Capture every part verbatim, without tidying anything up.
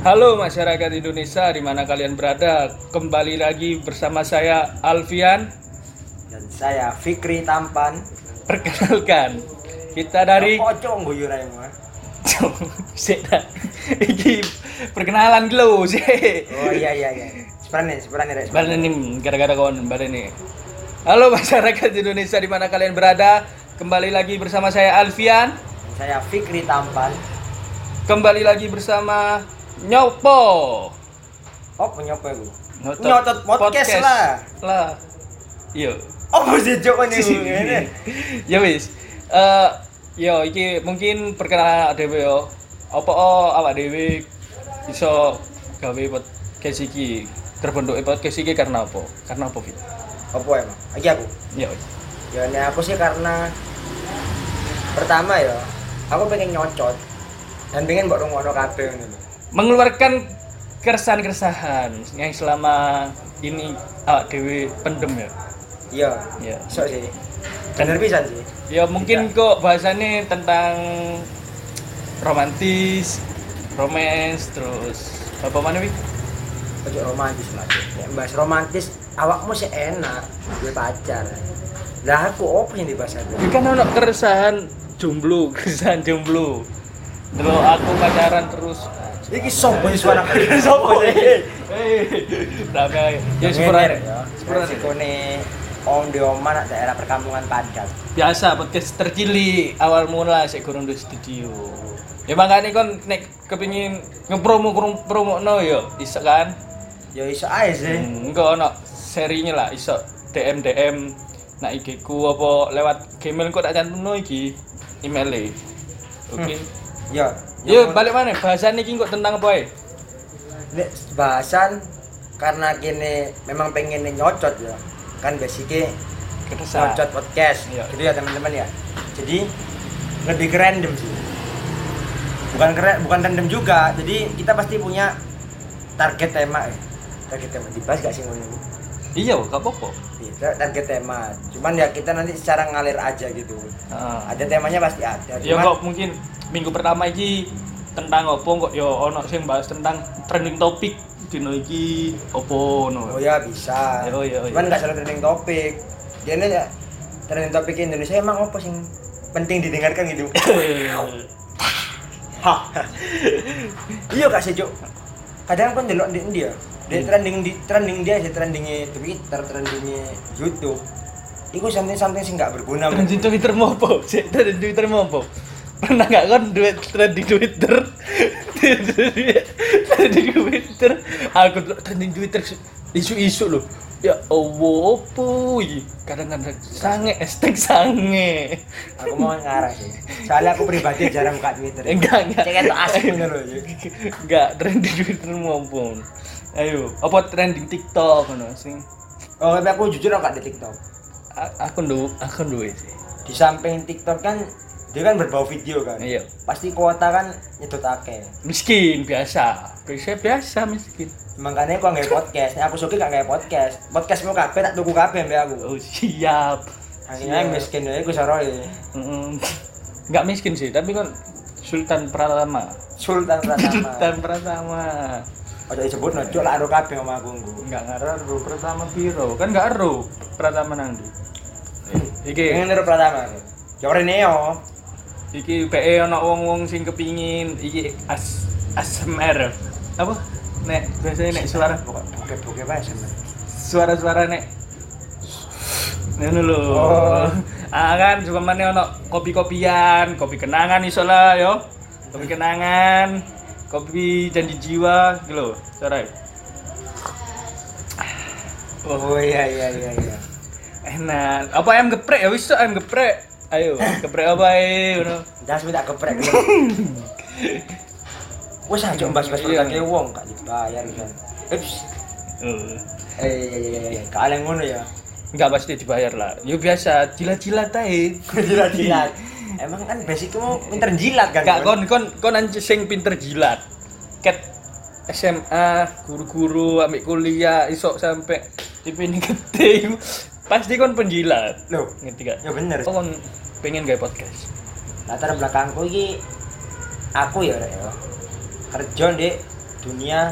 Halo masyarakat Indonesia di mana kalian berada. Kembali lagi bersama saya Alfian dan saya Fikri Tampan. Perkenalkan, kita dari Pocong guyu rae mah. Sik dah. Iki perkenalan dulu sih. Oh iya iya iya. Sebenarnya sebenarnya rek. Balen nih gara-gara kawan balen nih. Halo masyarakat Indonesia di mana kalian berada. Kembali lagi bersama saya Alfian. Dan saya Fikri Tampan. Kembali lagi bersama Nyopo. Oh punya apa iku? Nyotot Nyotot podcast, lah. Lah. Iya. Oh mesti jok ngene. Ya wis. Eh yo iki mungkin perkenalan dhewe yo. Apa oh awak dhewe iso gawe podcast iki? Terbentuk podcast iki karena apa? Karena apa, Fit? Apa emang? Iki aku. Ya. Ya ini aku sih karena pertama ya, aku pengen nyocot dan pengen mbok rungokno kabeh ngono. Mengeluarkan keresahan-keresahan yang selama ini awak dhewe pendem ya. Iya. Ya. Iso sih. Bener pisan sih. Ya mungkin kok bahasannya tentang romantis, romance, terus apa mana wi? Ojo romantis mas. Ya bahas romantis, awakmu sih enak, gue pacar. Lah aku opo yang dibahas aku? Ini kan ono keresahan jomblo, keresahan jomblo. Dulu aku pacaran terus. Iki sopo sih suara kalian sopo sih? Hei, damai. Ya Ngener sebenarnya, ya. sebenarnya Sikone om di oma nak daerah perkampungan padat. biasa podcast tercilik awal mula sik gurung di studio. Ya makanya kon nek kepengin ngepromo promo no yo, iso kan? Ya iso ae sih. Hmm, enggak ono serinya lah iso D M D M nak I G ku apa lewat Gmail kok tak cantumno iki email-e. Oke. Ya. Yo balik mana? Bahasan iki kok tentang apa ae? Nek bahasan karena kini memang pengen nyocot ya. Kan basicnya Keresahan. nyocot podcast. Iya. Gitu ya teman-teman ya. Jadi lebih ke random sih. Bukan keren, bukan random juga. Jadi kita pasti punya target tema ya. Target tema dibahas gak sih ngono? Iya, gak apa-apa. Iya, target tema. Cuman ya kita nanti secara ngalir aja gitu. Heeh. Ada temanya pasti ada. Ya Cuman kok mungkin minggu pertama iki tentang opo kok yo ono sing bahas tentang trending topik dino iki opo no. oh ya bisa. Oh iya, oh iya. Cuman nggak selalu trending topik. Dia ini ya trending topik Indonesia emang apa sih penting didengarkan gitu. Hah. Iya Kak Sejo. Kadang kan delok di India. Dia Hmm. trending di trending dia sih trendingnya Twitter, trendingnya YouTube. Iku something-something sih nggak berguna. Trending Twitter mau apa? Cek trending Twitter mau apa? Pernah gak kan duit trending Twitter? Trending Twitter. Aku trending Twitter isu-isu loh. Ya Allah, opo iki? Kadang-kadang sange, hashtag sange. Aku mau ngarah sih. Soalnya aku pribadi jarang buka Twitter. Enggak, enggak. Cek itu asik bener loh. Enggak trending Twitter maupun. Ayo, apa trending TikTok ngono sing Oh, tapi aku jujur aku gak di TikTok. a- aku ndu aku duwe sih. Di samping TikTok kan dia kan berbau video kan. Iya. Pasti kuota kan nyedot akeh. Miskin biasa. Biasa biasa miskin. Makanya aku nggak podcast. Nah, aku suka gak nggak podcast. Podcastmu kabeh tak tuku kabeh mbek aku. Oh, siap. Akhirnya miskin ya aku soroi. Mm, enggak miskin sih, tapi kan Sultan Pratama. Sultan Pratama. Sultan Pratama. Ojo disebut nojo lah karo kabeh omah aku nggo. Enggak ngaruh Pratama piro. Kan enggak ero Pratama nang ndi. Eh, Iki Pengen niru Pratama. Ya ora neo. iki P E ana wong-wong sing kepingin iki as ASMR. Apa? Nek biasanya nek suara Buke-buke wae sampe. suara-suara nek ngono lho. Oh. Ah kan cuma mana ono kopi-kopian, kopi kenangan iso lah yo. Kopi kenangan, kopi janji jiwa gitu lho, cara. Oh iya iya iya iya. Enak. Apa ayam geprek ya wis ayam geprek. Ayo, geprek apa ae ngono. Jas minta geprek. Wes aja mbas-mbas pertake wong gak dibayar kan. Ups. Oh. Eh iya iya iya iya. Kalian ngono ya. Enggak pasti dibayar lah. Yo biasa, jilat-jilat ae. Jilat-jilat. Emang kan basicmu pinter jilat kan? Enggak kon kon kon anjing sing pinter jilat. Ket S M A, guru-guru ambek kuliah iso sampai I P ini gede iku. Pasti kon penjilat. Loh, Ngerti gak? ya bener. Oh, kon pengen gawe podcast. Latar belakangku iki aku ya rek ya. Kerja di dunia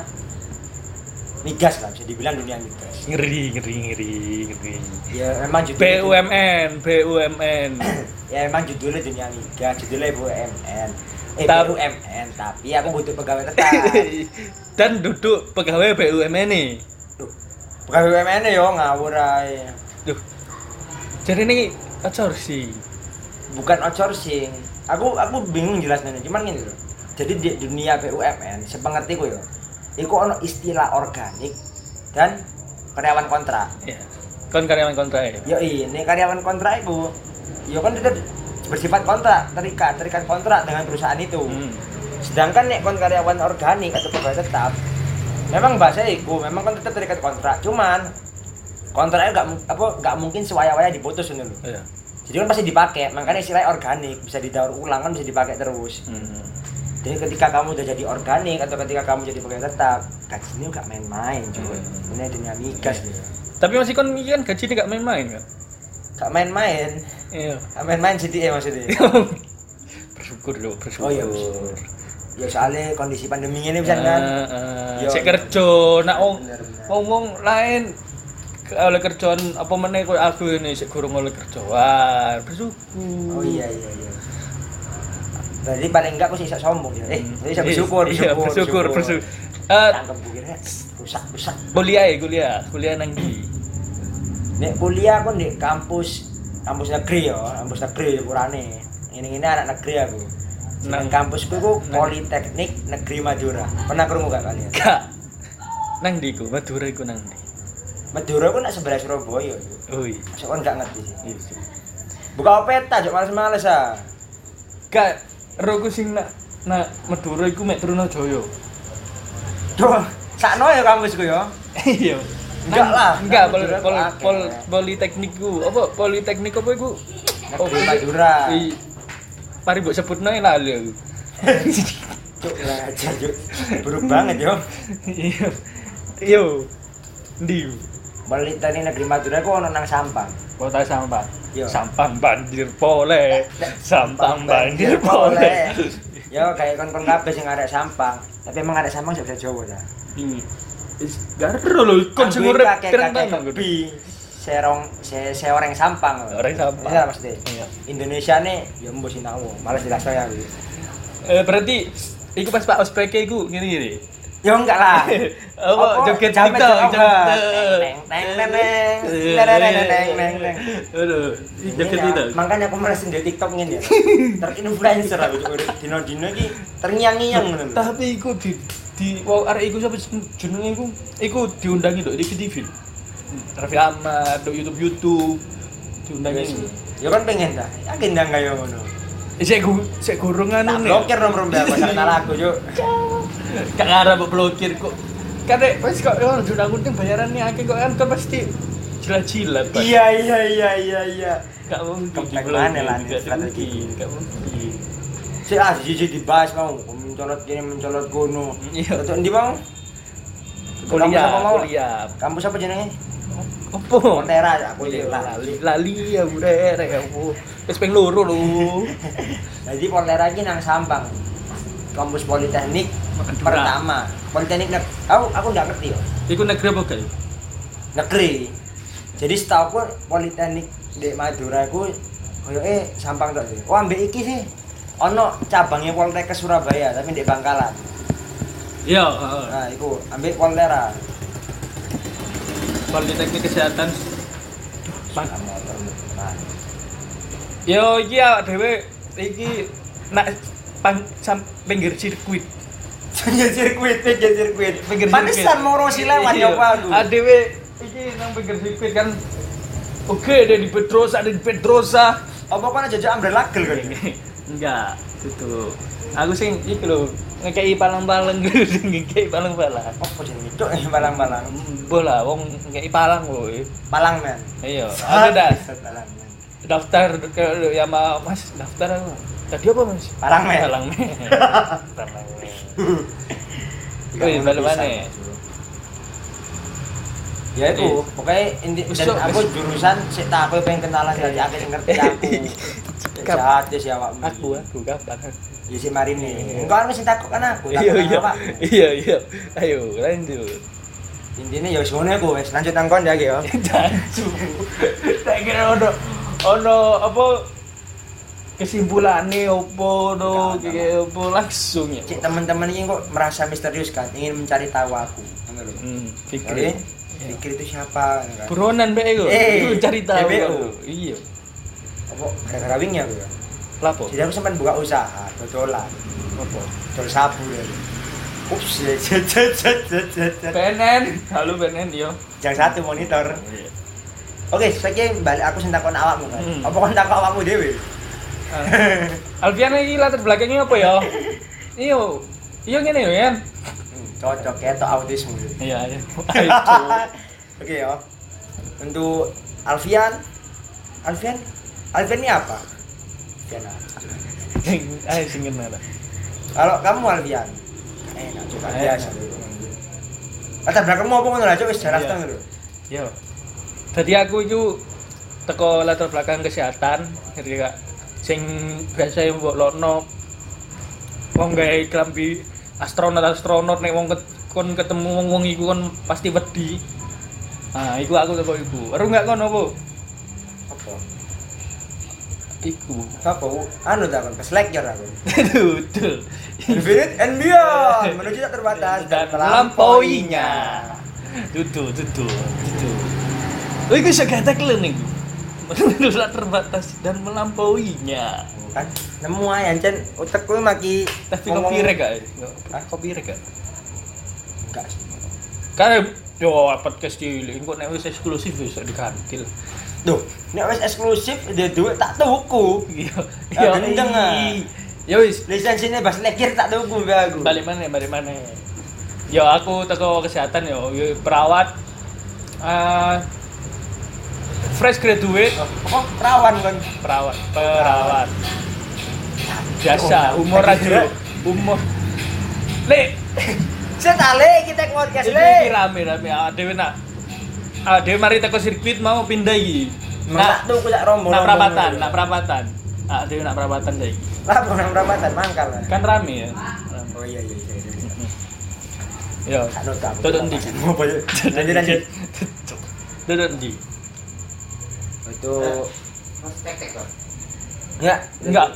migas lah, bisa dibilang dunia migas. Ngeri, ngeri, ngeri, ngeri. Ya memang B judulnya U M N, B U M N. ya memang judulnya dunia migas, judulnya B U M N. Eh Ta- B U M N, tapi aku butuh pegawai tetap. Dan duduk pegawai B U M N nih. Duh, pegawai B U M N yo ngawur ae. Duh. Jadi ini outsourcing. Bukan outsourcing. Aku aku bingung jelasnya, cuman gini loh. Jadi di dunia B U M N, sepengertiku yo, iku ono istilah organik dan karyawan kontrak. Iya. Kon karyawan kontrak ya. Yo ini karyawan kontrak iku, yo kan tetap bersifat kontrak, terikat, terikat kontrak dengan perusahaan itu. Hmm. Sedangkan nek kon karyawan organik atau pegawai tetap, memang bahasa iku, memang kan tetap terikat kontrak. Cuman kontraknya nggak mu- apa nggak mungkin sewaya-waya diputus ngono lho. Iya. Jadi kan pasti dipakai, makanya istilahnya organik, bisa didaur ulang kan bisa dipakai terus. Hmm. Jadi ketika kamu udah jadi organik atau ketika kamu jadi pegawai tetap, gajinya nggak main-main cuy. Hmm. Ini dunia migas ya. Tapi masih kon iki kan gajinya enggak main-main kan? Gak main-main, Iya. gak main-main C D E maksudnya. Bersyukur loh, bersyukur. Oh iya, bersyukur. Ya soalnya kondisi pandemi ini bisa kan. Heeh. Yo, Sik iya. kerja, nak wong Bener, bener. ngomong lain ke- oleh kerjaan apa meneh koyo aku ini sik gurung oleh kerjaan. Bersyukur. Oh iya iya iya. Berarti paling enggak aku sih bisa sombong ya. Eh, Hmm. jadi bisa bersyukur, Iya, bersyukur, bersyukur, bersyukur. Eh, Tangkep bukirnya, rusak, rusak. kuliah ya, kuliah, kuliah nang ndi? Nek kuliah aku di kampus kampus negeri ya, kampus negeri urane. Ini-ini anak negeri aku. Nang Nang- kampusku ku nang- Politeknik Negeri Madura. Pernah krungu gak kalian? Gak. Nang ndi ku? Madura iku nang ndi? Madura ku nak sebelah Surabaya. Oh iya. Masuk kan gak ngerti sih. Iya sih. Buka peta, jok males-males ah. Gak, roku sing nak nak Madura iku mek Trunajaya. Duh, sakno ya kampusku ya. Iya. Enggak lah, Enggak, pol, Madura pol, kok akeh. pol, politeknikku. Apa politeknik apa iku? Negeri Madura. I, mari mbok sebutno ae lali aku. Cuk lah aja, Cuk. Buruk banget yo. Iya. Yo. Ndi? Politeknik Negeri Madura ku ono nang Sampang. Kota Sampang. Yo. Sampang banjir pole. Sampang banjir pole. Yo kayak kon-kon kabeh sing arek Sampang. Tapi emang arek Sampang bisa Jawa ta. Ini. Is garo lho kon sing urip pirang tahun. Bi serong se seorang Sampang. Orang Sampang. Iya pasti. Iya. Indonesia nih ya mbok sinau. Malas jelas saya aku. Eh berarti iku pas Pak Ospeke iku ngene-ngene. Ya enggak lah. Apa joget jamet TikTok, joget. joget. Teng teng teng teng teng teng teng teng. Aduh, joget Ini ya, TikTok. makanya aku merasa di TikTok ngene ya. Terinfluencer aku urip dino-dino iki terngiang-ngiang ngono. lho. Tapi iku di di wow arek iku sapa jenenge iku? Iku diundangi nduk T V T V. Raffi Ahmad, nduk YouTube YouTube diundangi. Ya kan pengen ta. Yakin ndang kaya ngono. Sik gu sik gurung Tak anu blokir nomor mbak aku sarana lagu, Cuk. Gak ngarep mbok blokir kok. Kadek wis kok yo diundang-undang bayarannya akeh kok kan kan pasti jilat-jilat. Pak. Iya iya iya iya iya. Gak mungkin Kepeng diblokir, mana lah, gak strategi. mungkin, gak mungkin. Si ah jiji dibahas mau mencolot kini mencolot kono. Iya. Untuk ndi mau? Kuliah, Kampus apa mau? kuliah. Kampus apa jenenge? Apa? Montera ya aku Iya, lali. lali lali ya udah rek aku. Wis ping loro lho. Jadi Montera iki nang Sampang. Kampus Politeknik Madura. pertama. Politeknik nek aku aku ndak ngerti yo. Iku negeri apa gak? Negeri. Jadi setahu aku Politeknik di Madura iku koyoke Sampang tok sih. Oh ambek iki sih. Ono cabangnya Poltekkes Surabaya tapi di Bangkalan. Iya, heeh. Nah, iku ambek Poltera. Politeknik Kesehatan. Pan. Nah, Yo iki awak dhewe iki nak pang sam, pinggir sirkuit. pinggir sirkuit, pinggir sirkuit. Pinggir Pantesan mau rosi lewat Iya. ya Pak aku. Adewe iki nang pinggir sirkuit kan. Oke, ada di Petrosa, ada di Petrosa. Apa kan jajak umbrella gel kan? Enggak, itu. Aku sing iki lho, ngekei palang-palang gitu, ngekei palang-palang. Apa jenenge cuk eh balang-balang. Bola, wong ngekei palang woy. Palang men. Iya, aku dah Palang men. daftar ke ya ma, Mas, daftar aku. Tadi apa, Mas? Palang men. Palang men. Palang men. Wih, balik mana? Ya itu, pokoknya inti Wis, dan Cuk, aku wis. jurusan sik tak aku pengen kenalan dari akeh sing ngerti aku. Jahat sih awakmu. Aku aku kapan? Ya si Marine. Engko kan sing takut kan aku, Iya takut iya. awak. Iya iya. Ayo lanjut. Intine ya wis ngono iku wis lanjut nang kon ya iki ya. Jancu. Tak kira ono ono apa kesimpulannya opo no Enggak, kayak opo langsung ya. Cik teman-teman ini kok merasa misterius kan, ingin mencari tahu aku. Ngono lho. Hmm, Oke. pikir. Pikir itu siapa kan? Buronan be iku. Eh, Iku cari tahu. D B O. Iya. Apa gara-gara wingi aku ya. Lapo? Jadi aku sempat buka usaha, dodolan. Apa? Dol sabu ya. Ups, jet jet jet jet jet jet. P N N. Halo P N N yo. Yang satu monitor. Iya. Oke, saiki balik aku sing takon awakmu kan. Hmm. Apa kon takon awakmu dhewe? Alfian iki latar belakangnya apa ya? Iyo. Iyo ngene yo, Yan. Hmm, cocok ketok autisme. Iya, iya. Ayo. Oke ya. Untuk Alfian. Alfian? Alfian ini apa? Alfian apa? Ayo sing ngene. Kalau kamu Alfian, enak coba Enak. biasa. Latar belakangmu apa ngono lah, coba wis jelas Iya. to lho. Yo. Dadi aku itu teko latar belakang kesehatan, ngerti Kak. Sing biasa mbok lokno wong gawe klambi astronot-astronot nek wong ket- kon ketemu wong-wong iku kon pasti wedi. Nah, iku aku teko iku. Ero enggak kono apa? Apa? Iku. Apa? Anu ta kon, keslekyor aku. Betul. Infinite and beyond, menuju tak terbatas Dan melampauinya. Tutu, tutu, tutu. Oh, iku iso gatek lho ning. Menuju tak terbatas dan melampauinya. Kan nemu ae ancen utekku maki Tapi ngomong- copyright gak? Hah? Copyright gak? Enggak sih. Kan yo podcast cilik kok nek wis eksklusif wis digantil. Duh, nek wis eksklusif dia duit tak tuku. Iya. Ya gendeng ah. Ya wis, Lisensinya bas lekir tak tuku be aku. balik mana balik mana. Yo aku teko kesehatan yo, yo perawat eh fresh graduate Oh, perawan kan. perawat perawat biasa umur aja umur le Saya tale kita podcast iki le. rame rame dhewe nak ah dhewe mari teko sirkuit mau pindah iki Nak tuku sak rombongan. nak perapatan nak perapatan ah dhewe nak perapatan saiki Lah orang perapatan mangkal lah. kan rame ya Oh iya iya iya. iya. yo Kan udah aku. Dodok ndi? Mau apa ya? Lanjut lanjut. dodok ndi Itu enggak enggak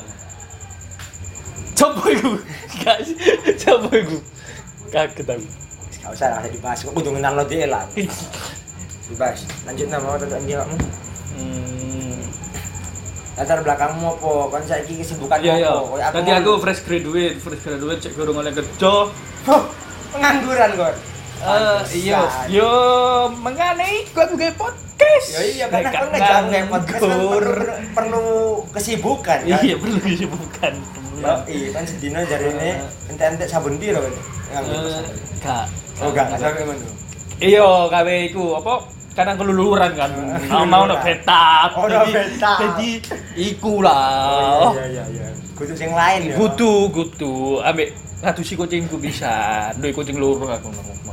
coba iku guys coba iku kaget aku Enggak usah lah dibahas. Kok kudu kenal lo dia lah. Dibahas. Lanjut nama tentang dia kamu. hmm Latar belakangmu apa? Kan saiki kesibukan iya iya apa? Kayak tadi aku fresh graduate fresh graduate cek gorong oleh kerja Oh, pengangguran kon. Eh iya, Pantesan. yo mengane iku aku gawe podcast. Ya iya kan Nek aku gak ngejam kayak podcast kan nganggur. perlu, perlu kesibukan kan. Iya, perlu kesibukan. Ya, iya kan sedina jarine ente-ente sabun piro kan. Nganggur. Eh, Gak. Oh, enggak, enggak sampai ngono. Iya, gawe iku apa? Kadang keluluran kan. Mau mau no betap. Oh, no Jadi- betap. Jadi iku lah. Oh, iya iya iya. Kudu sing lain ya. Kudu, kudu ambek ngadusi kucingku bisa. Duwe kucing loro aku nang omah.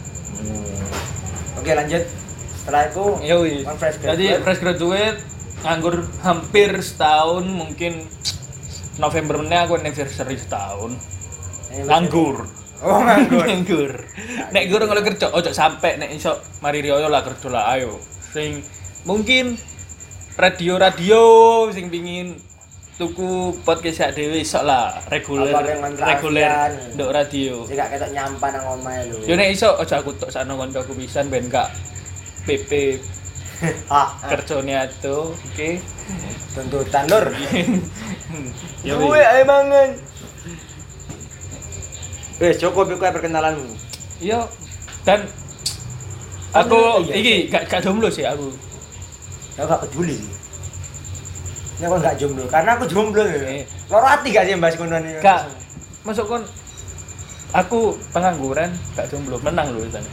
Oke, lanjut. Setelah itu Ya wis. on fresh Jadi graduate. fresh graduate nganggur hampir setahun mungkin November meneh aku anniversary setahun. Nganggur. Oh, nganggur. Nganggur. Nek gurung oleh kerja, ojo sampe nek iso mari riyo lah kerja lah ayo. Sing mungkin radio-radio sing pingin tuku podcast sak dhewe iso lah reguler Apa yang ngontrak reguler Alfian? nduk radio. Jika ketok nyampan nang omahe lho. Yo nek iso ojo aku tok sakno kancaku pisan ben gak P P Ah, kerjane atuh, oke. tuntutan lur. Ya Duwe wis. ae mangan. Wes cukup iku perkenalanmu. Iya. Dan Oh, aku iya, iki gak gak jomblo sih aku. Ya gak peduli sih. Nek kok gak jomblo, karena aku jomblo ya. Eh. Loro ati gak sih mbahas ngono iki? Gak masuk kon aku pengangguran gak jomblo menang lho sana.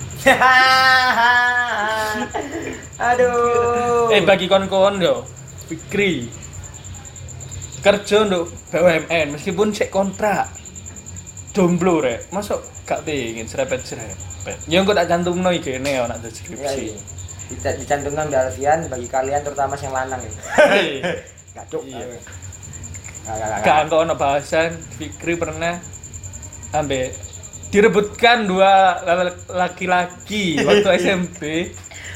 Aduh. Eh bagi kon-kon yo Fikri kerja untuk B U M N meskipun sik kontrak jomblo rek masuk gak pengen serepet-serepet ya engko tak cantumno iki kene ana Iya, deskripsi. iya. Kita dicantumkan di Alfian bagi kalian terutama yang lanang ya. Hei. Gak cuk. Iya. Gak kok ono bahasan Fikri pernah ambek direbutkan dua laki-laki waktu S M P.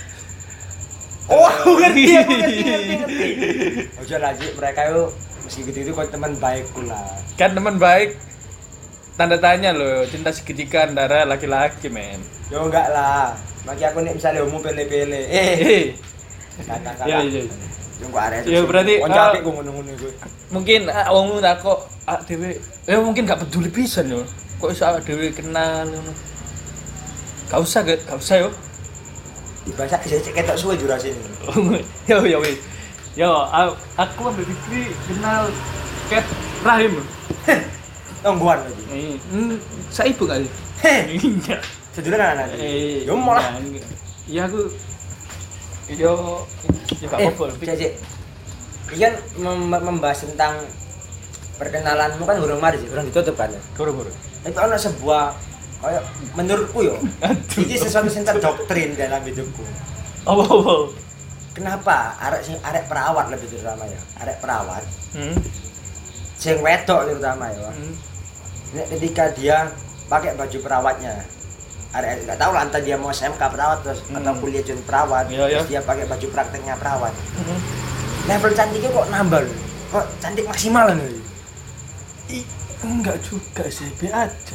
Oh, aku ngerti, aku ngerti, ngerti, ngerti. Ojo lagi mereka itu meski gitu itu kok teman baikku lah. Kan teman baik tanda tanya loh, cinta segitiga antara laki-laki, men. Yo enggak lah. Bagi aku nih misalnya umum pele-pele. Eh. Eh. Kakak-kakak. Iya, iya. Yo kok arek. Ya berarti konco apik ku ngono-ngono iku. Mungkin wong tak kok ah dhewe ya mungkin gak peduli pisan yo. Kok iso awake dhewe kenal ngono. Gak usah, gak usah yo. Bahasa cek ketok suwe durasi ini. Yo yo wis. Yo aku ambek Fikri kenal Ket Rahim. Tongguan lagi. Hmm, saya ibu kali. Enggak. Sedulur anak. Eh, yo malah. Iya aku yo yo gak apa-apa. Cek cek. Ikan mem- membahas tentang perkenalanmu kan urung mari sih, urung ditutup kan. Guru-guru. Itu ana sebuah kayak menurutku yo. Iki sesuatu sing terdoktrin dalam hidupku. Oh, oh, oh. Kenapa arek sing arek perawat lebih terutama ya? Arek perawat. Hmm. Sing wedok terutama ya. Hmm. Nek ketika dia pakai baju perawatnya. Arek enggak tahu lah entah dia mau S M K perawat terus Hmm. atau kuliah jadi perawat, Iya, terus iya. dia pakai baju prakteknya perawat. Hmm. Level cantiknya kok nambah loh. Kok cantik maksimal loh. Ih, enggak juga sih, be aja.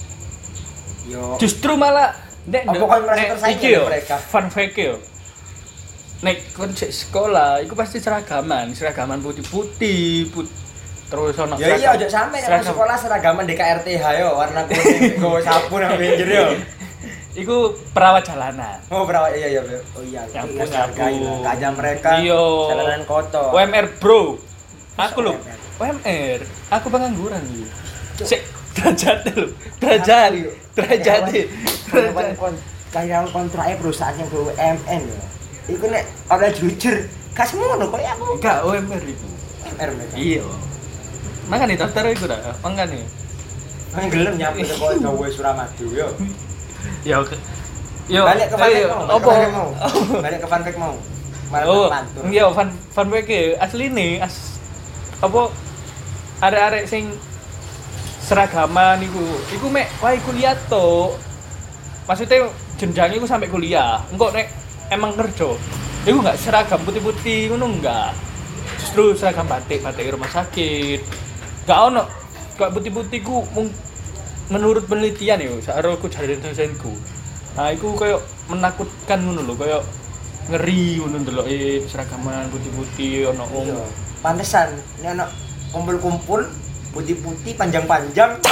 Yo. Justru malah nek Apa kau merasa tersaing iki yo, dengan mereka? fun fact yo. Nek kon cek sekolah, iku pasti seragaman, seragaman putih-putih, put terus ono Ya iya ojo sampe nang sekolah seragaman D K R T H yo, warna kuning, nggo sapu nang pinggir yo. Iku perawat jalanan. Oh, perawat iya iya. Oh iya, Yang iya, punya hargai aku. lah. Kaja mereka Iya. jalanan kotor. U M R bro. Aku lho, U M R? U M R. Aku pengangguran iki. Sik derajat lho, derajat. Derajat. Karyawan kon karyawan kontraknya perusahaan yang B U M N ya. Iku nek ora jujur, gak semono koyo aku. Enggak U M R iku. U M R mereka. Iya. Makane daftar iku dah, mangane. Nang gelem nyampe kok gawe Suramadu yo. Ya oke. Yo, Balik ke fun fact mau. Apa? balik ke fun fact mau. Balik ke fun fact mau. Malah Oh, mantur. iya fun fun fact asli nih as apa arek-arek sing seragaman iku. Iku mek wae kuliah to. Maksudnya jenjangnya iku sampai kuliah. Engko nek emang kerja, iku enggak seragam putih-putih ngono enggak. Justru seragam batik, batik rumah sakit. Enggak ono kok putih-putih ku mung- menurut penelitian yo, saroku jare dosenku. Nah, iku koyo menakutkan ngono lho, koyo ngeri ngono ndeloke seragaman putih-putih ono om. Iya. Pantesan nek ana kumpul-kumpul putih-putih panjang-panjang.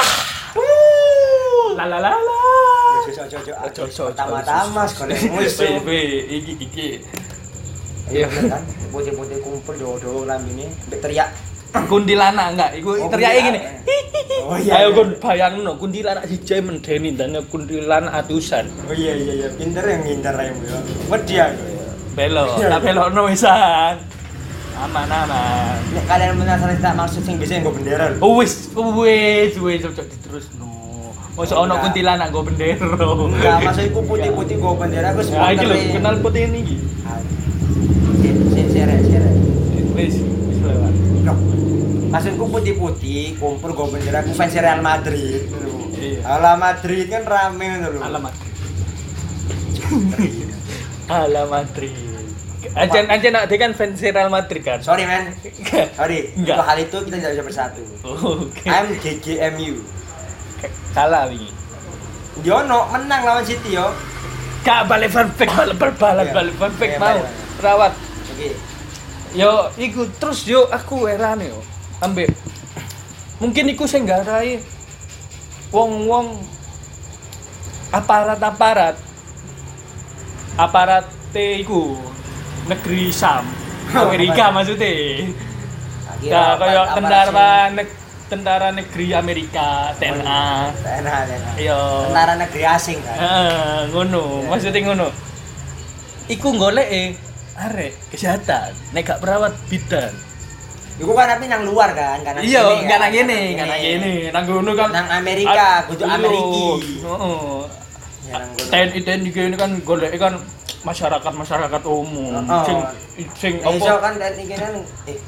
La la la la. Ojo ojo ojo. Ojo, ojo, Pertama-tama ojo, sekolah ojo. musuh. Weh, iki iki. Iya kan, putih-putih kumpul dowo-dowo lambene mbek teriak. Kuntilanak enggak, iku Oh, teriake gini. kuntilanak. Oh iya. Ayo iya. kon bayangno kuntilanak siji mendeni dan kuntilanak atusan. Oh iya iya iya, pinter yang ngincar raimu ya. Wedi aku ya. Belok, tak belokno wisan. Aman aman. Nek kalian penasaran tak maksud sing bisa nggo bendera lho. Oh wis, wis, wis cocok diterusno. Mosok ono Enggak. kuntilanak nggo bendera. Enggak, maksudku putih-putih nggo bendera aku Nah, iki lho supporter. kenal putih ini iki. Sere sere. Wis, wis lewat. Loh. Maksudku putih-putih kumpul nggo bendera aku fans Real Madrid. Iya. Ala Madrid kan rame ngono lho. Alamat. Ala Madrid. Ancen ancen nak dia kan fans Real Madrid kan. Sorry men. Sorry. Enggak. Untuk hal itu kita tidak bisa bersatu. Oke. I'm G G M U. Kalah wingi. Diono menang lawan City yo. Gak balik fun fact, balik berbalan Iya. balik fun fact Iya, mau. balik, balik. Rawat. Oke. Yo iku terus yo aku heran yo. Ambek mungkin iku sing garai wong-wong aparat-aparat aparat te iku negeri Sam Amerika maksudnya. Ya kaya tentara neg tentara negeri Amerika T N A. T N A, T N A. Iya. Tentara negeri asing kan. Heeh, ngono. Iya. Maksudnya ngono. Iku goleke arek kesehatan nek gak perawat bidan. Iku kan tapi nang luar kan, kan. Iya, enggak nang kene, enggak nang kene. Nang ngono kan Nang Amerika, kudu Ameriki. Heeh. Ya, nang kono. T N I T N I ini kan goleke kan masyarakat-masyarakat umum. Oh. Sing sing Iso apa? kan T N I kene eh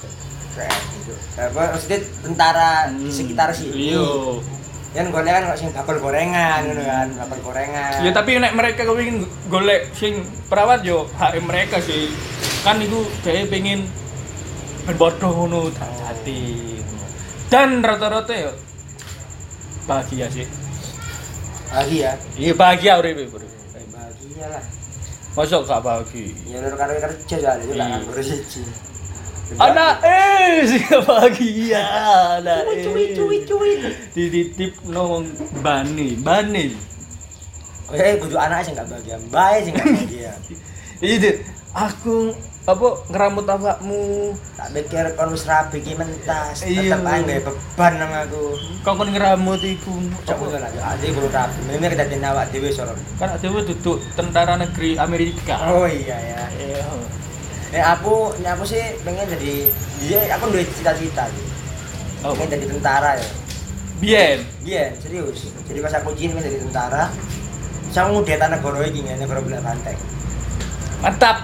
K N itu. Apa maksudnya tentara di sekitar sini. Iya. Kan golek kan kok sing bakul gorengan ngono kan, bakul gorengan. Ya tapi nek mereka kepengin golek sing perawat yo hak mereka sih. Kan iku dhewe pengen ben bodoh ngono tak hati. Dan rata-rata yo bahagia sih. Bahagia. Iya bahagia uripe, Bro. Bahagia lah. Mosok gak bahagia. Ya lur karo kerja soalnya yo gak nganggur siji. Anak eh sih bahagia. Anak eh. Cuit cuit cuit. Dititip nang bani, bani. Eh kudu anak sing gak bahagia, bae sing gak bahagia. Itu aku apa ngeramut awakmu. Tak pikir kon wis rabi ki mentas, Iya. tetep ae gawe beban nang aku. Kau kon ngeramut iku. Cok ngono lah, ade kudu rabi. Memang kita dene awak dhewe soro. Kan dhewe duduk tentara negeri Amerika. Oh iya ya. Iya. Nek aku, nek aku sih pengen jadi dia aku duwe cita-cita gitu. Oh. Pengen jadi tentara ya. Bien. Iya, serius. Jadi pas aku izin pengen jadi tentara. Saya ngudeta negara iki nggak negara belah banteng. Mantap.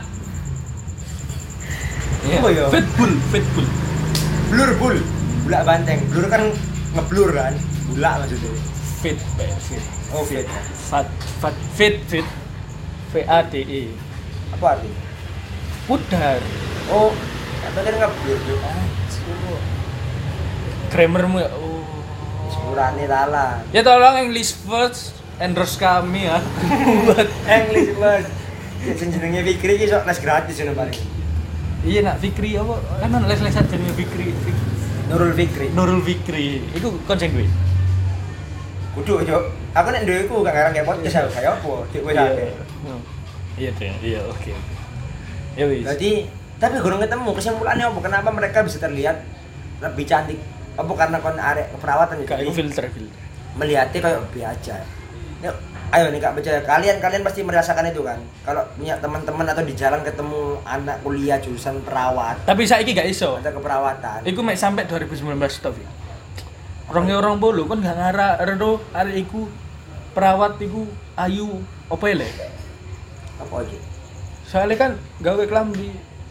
Iya. Oh, iya. Fitbul, fitbul. Blur bul, bulak banteng. Blur kan ngeblur kan. Bulak maksudnya. Fit, Pak, fit. Oh, fit. Fat, fat, fit, fit. V A D E. Apa artinya? Pudar. Oh, apa kan ngeblur tuh? Grammarmu ya. Oh. Sepurane lala. Ya tolong English first, endorse kami ya. Buat English mas. Ya jenenge Fikri ki sok les gratis ngono paling. iya nak Fikri apa? Kan les-lesan jenenge Fikri. Nurul Fikri. Nurul Fikri. Iku konsen gue. Kudu yo. Aku nek duwe iku gak ngarang kayak podcast aku kaya apa? Dik kowe sampe. Iya deh, iya oke. Ya wis. Berarti tapi gurung ketemu kesimpulannya apa? Kenapa mereka bisa terlihat lebih cantik? Apa karena kon arek keperawatan Kayak jadi filter filter. melihatnya kayak biasa. Yuk, ayo nih kak percaya kalian kalian pasti merasakan itu kan. Kalau punya teman-teman atau di jalan ketemu anak kuliah jurusan perawat Tapi saiki gak iso. atau keperawatan. Iku mek sampai dua ribu sembilan belas tok. Orang orang bolu kan gak ngarah reno arek iku perawat iku ayu apa le? Apa lagi? Soalnya kan gawe klambi.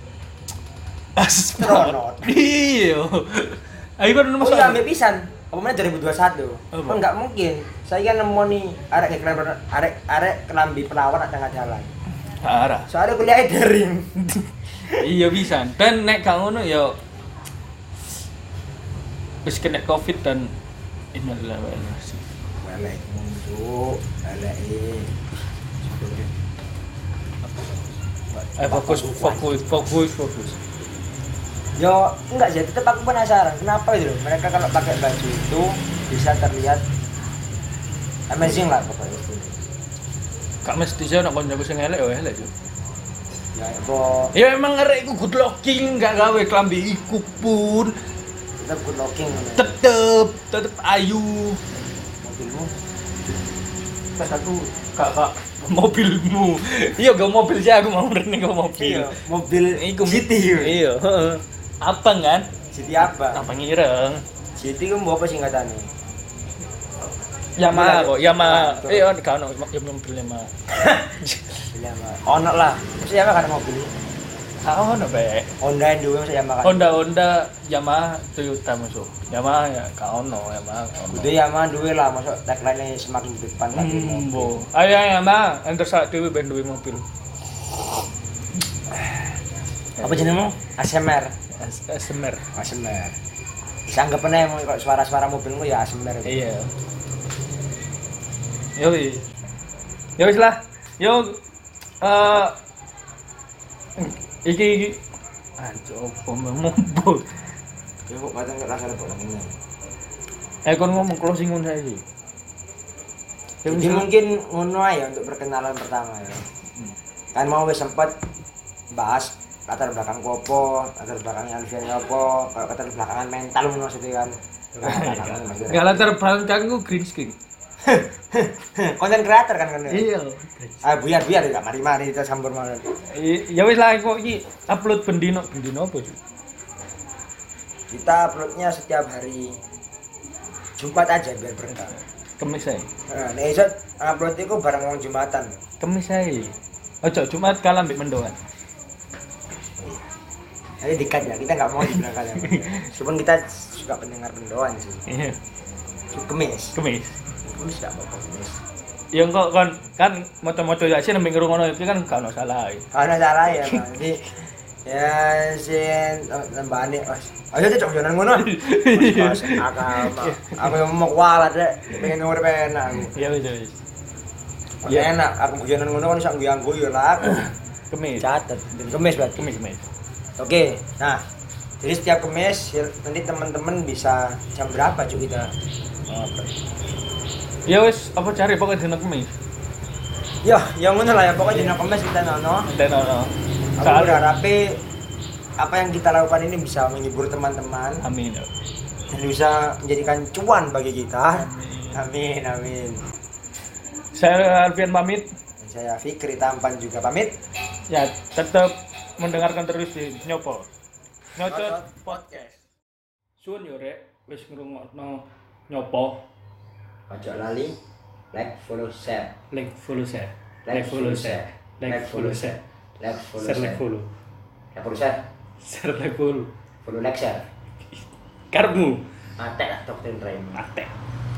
Astronot. Iya. Ayo kan Oh masuk. iya, ambil pisan. Apa mana dua ribu dua puluh satu? Apa? Oh enggak mungkin. Saya kan nemu nih arek kayak kelambi arek arek kelambi perawat ada tengah jalan. Arah. Soalnya kuliahnya daring. Iya bisa. Dan nek gak ngono ya wis kena Covid dan innalillahi wa inna ilaihi. Balik munjuk, balik Eh fokus fokus fokus fokus. Yo enggak sih, tetap aku penasaran kenapa gitu loh. Mereka kalau pakai baju itu bisa terlihat amazing lah pokoknya itu. Gak mesti sih nek koncoku sing elek ya elek yo. Ya kok Ya emang ngerek iku good looking gak gawe klambi iku pun tetap good looking gitu. tetep tetep ayu. Mobilmu Pas aku gak gak mobilmu. Iya gak mobil sih aku mau rene ke mobil. iya, mobil Iku City yo. Iya, heeh. Apa kan? City apa? Apa ngireng? City ku mbok apa singkatane? Yamaha kok, Yamaha. Betul. Eh, oh, gak ono ya mobil Yamaha. Yamaha. Ono lah. Mesti Yamaha kan mobil. Gak ono bae. Honda yang dulu mesti Yamaha kan. Honda Honda Yamaha Toyota masuk. Yamaha ya gak ono, Yamaha gak ono. Kudu Yamaha duwe lah, masuk tagline semakin di depan lagi Hmm, mobil. bo. Ayo Yamaha, enter sak dhewe ben duwe mobil. Apa jenengmu? A S M R. S- SMR. A S M R. Bisa anggap aja mau kok suara-suara mobilmu ya A S M R. Iya. Yo wis. Yo wis lah. Yo eh iki iki anjo apa membo. Ya kok kadang nggak rasa repot ini. Eh kon ngomong closing ngono saiki. Jadi mungkin ngono aja untuk perkenalan pertama ya. Kan mau wis sempat bahas latar belakang kopo, latar belakangnya Alfian apa, kalau latar belakangan mental ngono sih kan. Enggak latar belakangku green screen. Konten kreator kan kan. Iya. Ah biar biar ya mari-mari kita campur malah. Ya wis lah kok iki upload bendino bendino apa sih? Kita uploadnya setiap hari Jumat aja biar berkah. Kemis ae. Nah, nek iso upload iku bareng wong Jumatan. Kemis ae. Ojo Jumat kalah mbek mendoan. Jadi dikat ya, kita nggak mau dibilang kalian. Meskipun kita suka pendengar pendoan sih. Iya. Kemis. Kemis. Kemis nggak apa-apa kemis. Ya kok kan kan moco-moco Yasin nembing ngrungokno iki kan gak ono salah. Karena salah ya, Bang. Jadi ya sin nambahane ayo cocok jonan ngono. Mas akal. Aku yang mau kualat rek, pengen ngurip enak aku. Iya wis wis. Ya enak, aku guyonan ngono kan iso ngguyu lah. Kemis. Catet, dan kemis berarti. Kemis kemis. Oke, nah jadi setiap kemis ya, nanti teman-teman bisa jam berapa cuy kita ngobrol. Ya wis apa cari pokoknya dina kemis. Ya, yang ngono lah ya pokoknya dina kemis kita nono. Dan ono. Aku berharap apa yang kita lakukan ini bisa menghibur teman-teman Amin. dan bisa menjadikan cuan bagi kita. Amin, amin. Saya Alfian pamit. Dan saya Fikri Tampan juga pamit. Ya, tetap mendengarkan terus di Nyopo. Nyocot podcast. Suun yo rek wis ngrungokno Nyopo. Ojo lali like, follow, share. Like follow share. Like, follow, share. Like follow share. Like, follow, Share like share. follow. Like, follow, share. Share like follow. Follow, like, share. Karmu. Atek lah doktrin Raymond. Atek.